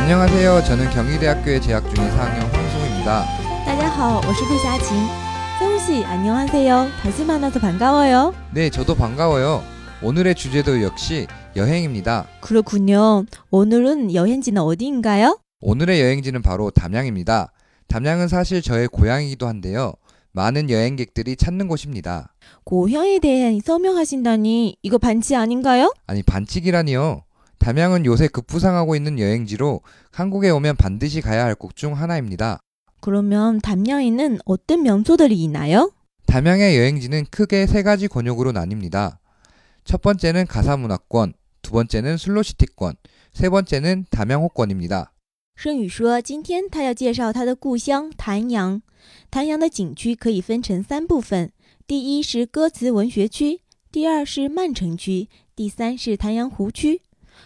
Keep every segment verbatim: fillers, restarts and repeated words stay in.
안녕하세요. 저는 경희대학교에 재학 중인 사 학년 황승우입니다. 大家好，我是陆霞琴。 승우씨, 안녕하세요. 다시 만나서 반가워요. 네, 저도 반가워요. 오늘의 주제도 역시 여행입니다. 그렇군요. 오늘은 여행지는 어디인가요? 오늘의 여행지는 바로 담양입니다. 담양은 사실 저의 고향이기도 한데요. 많은 여행객들이 찾는 곳입니다. 고향에 대해 설명하신다니 이거 반치 아닌가요? 아니, 반칙이라니요. 담양은 요새 급부상하고 있는 여행지로 한국에 오면 반드시 가야 할 곳 중 하나입니다. 그러면 담양에는 어떤 명소들이 있나요? 담양의 여행지는 크게 세 가지 권역으로 나뉩니다. 첫 번째는 가사문화권, 두 번째는 슬로시티권, 세 번째는 담양호권입니다. 盛宇说今天他要介绍他的故乡潭阳。潭阳的景区可以分成三部分，第一是歌词文学区，第二是曼城区，第三是潭阳湖区。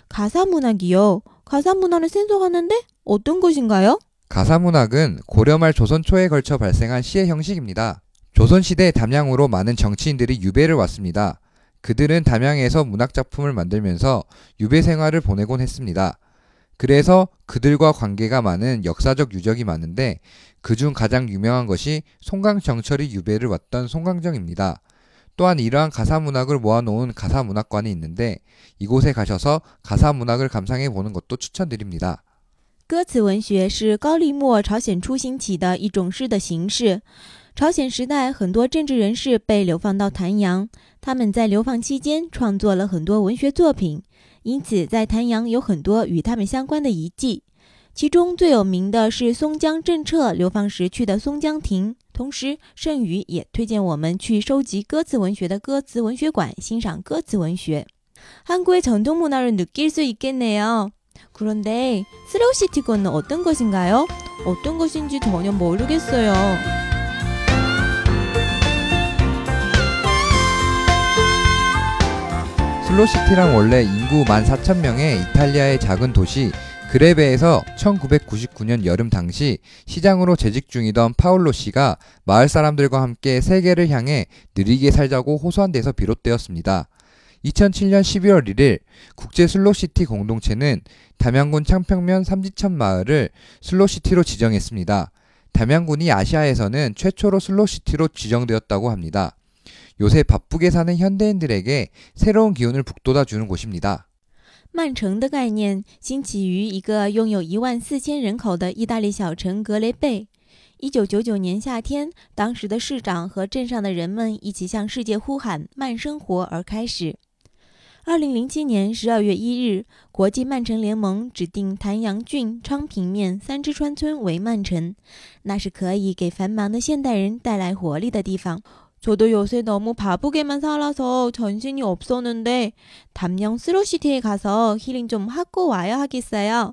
가사문학이요. 가사문화를 생소하는데 어떤 것인가요? 가사문학은 고려말 조선 초에 걸쳐 발생한 시의 형식입니다. 조선시대 담양으로 많은 정치인들이 유배를 왔습니다. 그들은 담양에서 문학작품을 만들면서 유배 생활을 보내곤 했습니다. 그래서 그들과 관계가 많은 역사적 유적이 많은데 그중 가장 유명한 것이 송강정철이 유배를 왔던 송강정입니다. 또한 이러한 가사문학을 모아놓은 가사문학관이 있는데 이곳에 가셔서 가사문학을 감상해 보는 것도 추천드립니다. 歌词文学是高丽末朝鲜初兴起的一种诗的形式。朝鲜时代很多政治人士被流放到潭阳，他们在流放期间创作了很多文学作品，因此在潭阳有很多与他们相关的遗迹。其中最有名的是松江正澈流放时去的松江亭。 同时盛宇也推荐我们去收集歌词文学的歌词文学馆欣赏歌词文学。 한국의 전통 문화를 느낄 수 있겠네요. 그런데 슬로우시티권은 어떤 것인가요? 어떤 것인지 전혀 모르겠어요. 슬로시티란 원래 인구 만 사천 명의 이탈리아의 작은 도시 그레베에서 천구백구십구 년 여름 당시 시장으로 재직 중이던 파올로 씨가 마을 사람들과 함께 세계를 향해 느리게 살자고 호소한 데서 비롯되었습니다. 이천칠 년 십이월 일일 국제 슬로시티 공동체는 담양군 창평면 삼지천 마을을 슬로시티로 지정했습니다. 담양군이 아시아에서는 최초로 슬로시티로 지정되었다고 합니다. 요새 바쁘게 사는 현대인들에게 새로운 기운을 북돋아 주는 곳입니다. 曼城的概念兴起于一个拥有一万四千人口的意大利小城格雷贝。一九九九年夏天，当时的市长和镇上的人们一起向世界呼喊慢生活而开始。二零零七年十二月一日，国际慢城联盟指定潭阳郡昌平面三之川村为慢城，那是可以给繁忙的现代人带来活力的地方。 저도 요새 너무 바쁘게만 살아서 정신이 없었는데 담양 슬로시티에 가서 힐링 좀 하고 와야 하겠어요.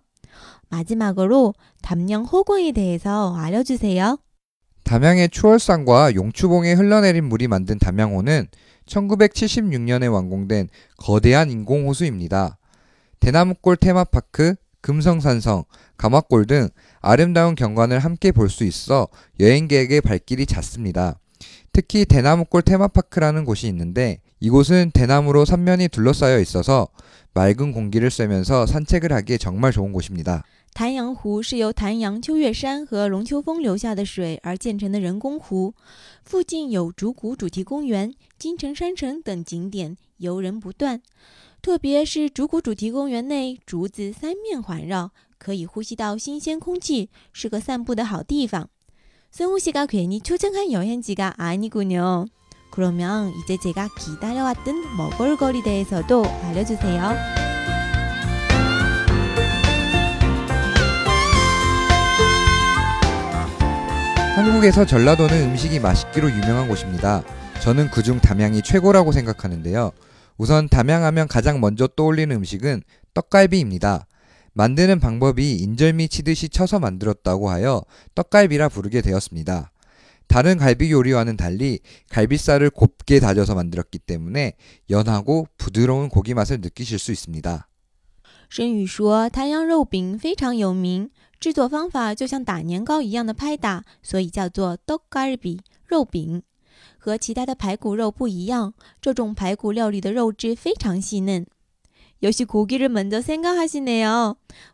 마지막으로 담양 호공에 대해서 알려주세요. 담양의 추월산과 용추봉에 흘러내린 물이 만든 담양호는 천구백칠십육 년에 완공된 거대한 인공호수입니다. 대나무골 테마파크, 금성산성, 가마골 등 아름다운 경관을 함께 볼 수 있어 여행객의 발길이 잦습니다. 특히 대나무골 테마파크라는 곳이 있는데 이곳은 대나무로 삼면이 둘러싸여 있어서 맑은 공기를 쐬면서 산책을 하기에 정말 좋은 곳입니다. 潭阳湖是由潭阳秋月山和龙秋峰流下的水而建成的人工湖，附近有竹谷主题公园、金城山城等景点，游人不断。特别是竹谷主题公园内，竹子三面环绕，可以呼吸到新鲜空气，是个散步的好地方。 승우 씨가 괜히 초청한 여행지가 아니군요. 그러면 이제 제가 기다려왔던 먹을거리 대해서도 알려주세요. 한국에서 전라도는 음식이 맛있기로 유명한 곳입니다. 저는 그중 담양이 최고라고 생각하는데요. 우선 담양하면 가장 먼저 떠올리는 음식은 떡갈비입니다. 만드는 방법이 인절미 치듯이 쳐서 만들었다고 하여 떡갈비라 부르게 되었습니다. 다른 갈비 요리와는 달리 갈비살을 곱게 다져서 만들었기 때문에 연하고 부드러운 고기 맛을 느끼실 수 있습니다. 申宇说，滩阳肉饼非常有名，制作方法就像打年糕一样的拍打，所以叫做떡갈비肉饼。和其他的排骨肉不一样，这种排骨料理的肉质非常细嫩。 역시 고기를 먼저 생각하시네요.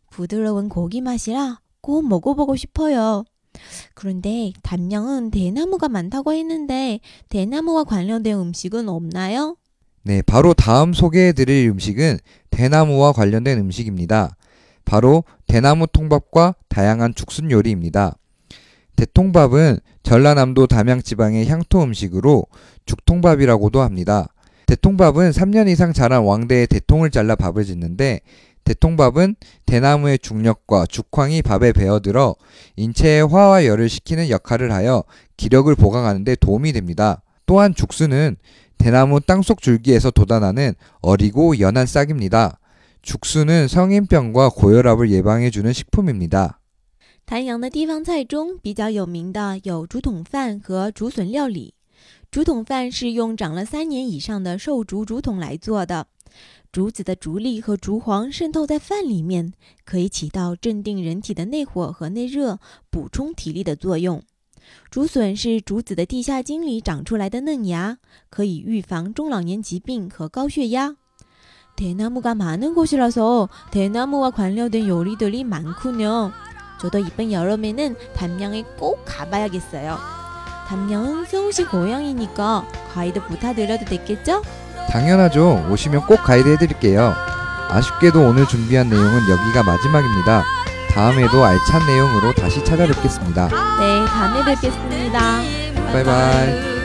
부드러운 고기 맛이라 꼭 먹어보고 싶어요. 그런데 단명은 대나무가 많다고 했는데 대나무와 관련된 음식은 없나요? 네, 바로 다음 소개해드릴 음식은 대나무와 관련된 음식입니다. 바로 대나무 통밥과 다양한 죽순 요리입니다. 대통밥은 전라남도 담양지방의 향토 음식으로 죽통밥이라고도 합니다. 대통밥은 삼 년 이상 자란 왕대의 대통을 잘라 밥을 짓는데 대통밥은 대나무의 중력과 죽황이 밥에 배어들어 인체의 화와 열을 식히는 역할을 하여 기력을 보강하는 데 도움이 됩니다. 또한 죽순은 대나무 땅속 줄기에서 돋아나는 어리고 연한 싹입니다. 죽순은 성인병과 고혈압을 예방해주는 식품입니다. 丹阳的地方菜中比较有名的有竹筒饭和竹笋料理。竹筒饭是用长了三年以上的瘦竹竹筒来做的，竹子的竹粒和竹黄渗透在饭里面，可以起到镇定人体的内火和内热、补充体力的作用。竹笋是竹子的地下茎里长出来的嫩芽，可以预防中老年疾病和高血压。 대나무가 많은 곳이라서 대나무와 관련된 요리들이 많군요. 저도 이번 여름에는 담양에 꼭 가봐야겠어요. 담양은 세훈씨 고향이니까 가이드 부탁드려도 되겠죠? 당연하죠. 오시면 꼭 가이드 해드릴게요. 아쉽게도 오늘 준비한 내용은 여기가 마지막입니다. 다음에도 알찬 내용으로 다시 찾아뵙겠습니다. 네, 다음에 뵙겠습니다. 바이바이.